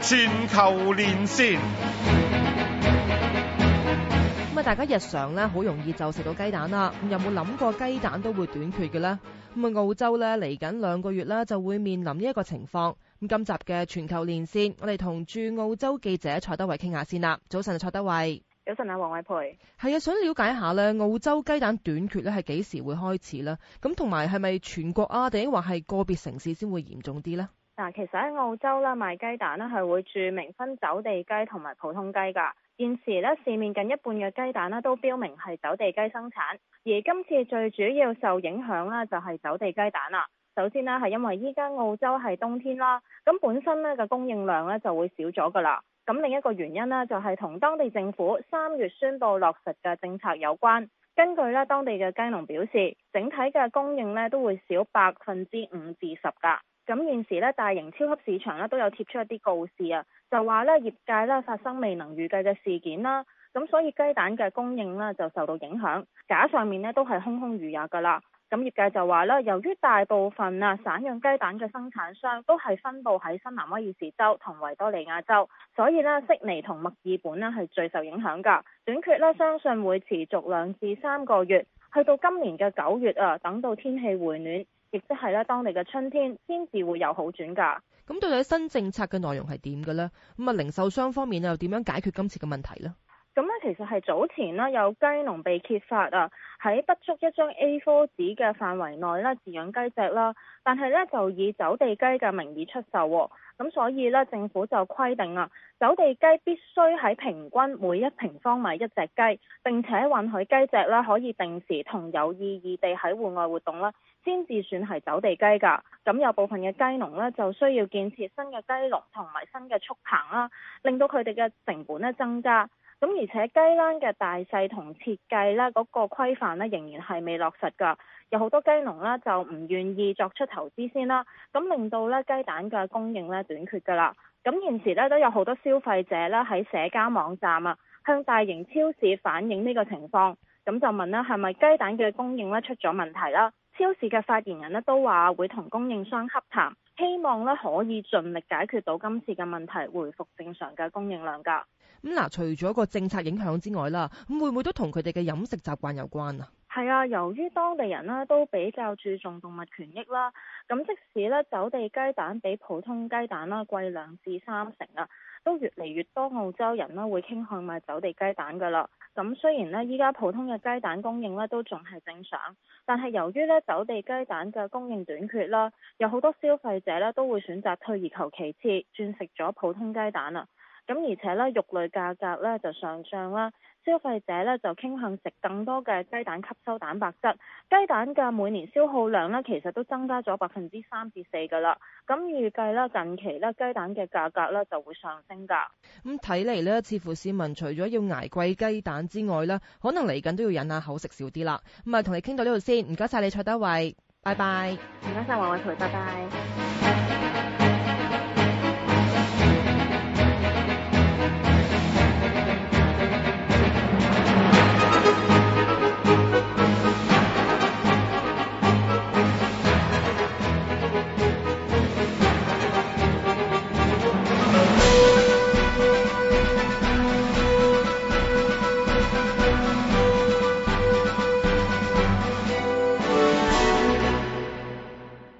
全球連線。 大家日常咧好容易就食到雞蛋啦，有冇諗過雞蛋都會短缺嘅呢？澳洲咧嚟緊2個月咧就會面臨呢一個情況。今集嘅全球連線，我哋同駐澳洲記者蔡德蕙傾下先啦。早晨，蔡德蕙。 早晨啊，黃偉培。 係啊，想了解一下咧，澳洲雞蛋短缺咧係幾時會開始咧？咁同埋係咪全國啊，定話係個別城市先會嚴重啲呢？ 嗱，其實喺澳洲啦，賣雞蛋咧係會註明分走地雞同埋普通雞㗎。現時咧市面近一半嘅雞蛋咧都標明係走地雞生產，而今次最主要受影響啦就係走地雞蛋啦。首先呢係因為依家澳洲係冬天啦，咁本身咧嘅供應量咧就會少咗㗎啦。咁另一個原因呢就係同當地政府3月宣布落實嘅政策有關。根據咧當地嘅雞農表示，整體嘅供應咧都會少5%至10%㗎。咁現時咧大型超級市場咧都有貼出一啲告示啊，就話咧業界咧發生未能預計嘅事件啦，咁所以雞蛋嘅供應咧就受到影響，架上面咧都係空空如也噶啦。咁業界就話咧，由於大部分散養雞蛋嘅生產商都係分佈喺新南威爾士州同維多利亞州，所以咧悉尼同墨爾本咧係最受影響噶。短缺咧相信會持續2至3個月，去到今年嘅9月啊，等到天氣回暖，亦即係咧當地嘅春天先至會有好轉㗎。 咁到底新政策嘅內容係點嘅呢？零售商方面又點樣解決今次嘅問題呢？ 咁咧其實係早前啦有雞農被揭發啊，喺不足一張 A4 紙嘅範圍內咧飼養雞隻啦，但係咧就以走地雞嘅名義出售喎。咁所以咧政府就規定啊，走地雞必須喺平均每1平方米一隻雞，並且允許雞隻啦可以定時同有意義地喺戶外活動啦，先至算係走地雞㗎。咁有部分嘅雞農咧就需要建設新嘅雞籠同埋新嘅畜棚啦，令到佢哋嘅成本咧增加。咁而且雞欄嘅大細同設計咧嗰個規範咧仍然係未落實㗎，有好多雞農咧就唔願意作出投資先啦，咁令到咧雞蛋嘅供應咧短缺㗎啦。咁現時咧都有好多消費者咧喺社交網站啊向大型超市反映呢個情況，咁就問咧係咪雞蛋嘅供應咧出咗問題啦？超市嘅發言人咧都話會同供應商洽談，希望咧可以盡力解決到今次嘅問題，回復正常嘅供應量㗎。 咁除咗個政策影響之外啦，咁會唔會都同佢哋嘅飲食習慣有關啊？ 係啊，由於當地人呢都比較注重動物權益啦，咁即使咧走地雞蛋比普通雞蛋啦貴2至3成啊，都越嚟越多澳洲人呢會傾向買走地雞蛋㗎啦。咁雖然呢依家普通嘅雞蛋供應呢都仲係正常，但係由於咧走地雞蛋嘅供應短缺啦，有好多消費者呢都會選擇退而求其次，轉食咗普通雞蛋啊。咁而且咧肉類價格咧就上漲啦，消費者咧就傾向食更多嘅雞蛋吸收蛋白質，雞蛋嘅每年消耗量咧其實都增加咗3%至4%㗎啦。咁預計咧近期咧雞蛋嘅價格咧就會上升㗎。 咁睇嚟咧，似乎市民除咗要捱貴雞蛋之外咧，可能嚟緊都要忍下口食少啲啦。同你傾到呢度先，唔該晒你蔡德蕙，拜拜。 唔該晒黃偉培，拜拜。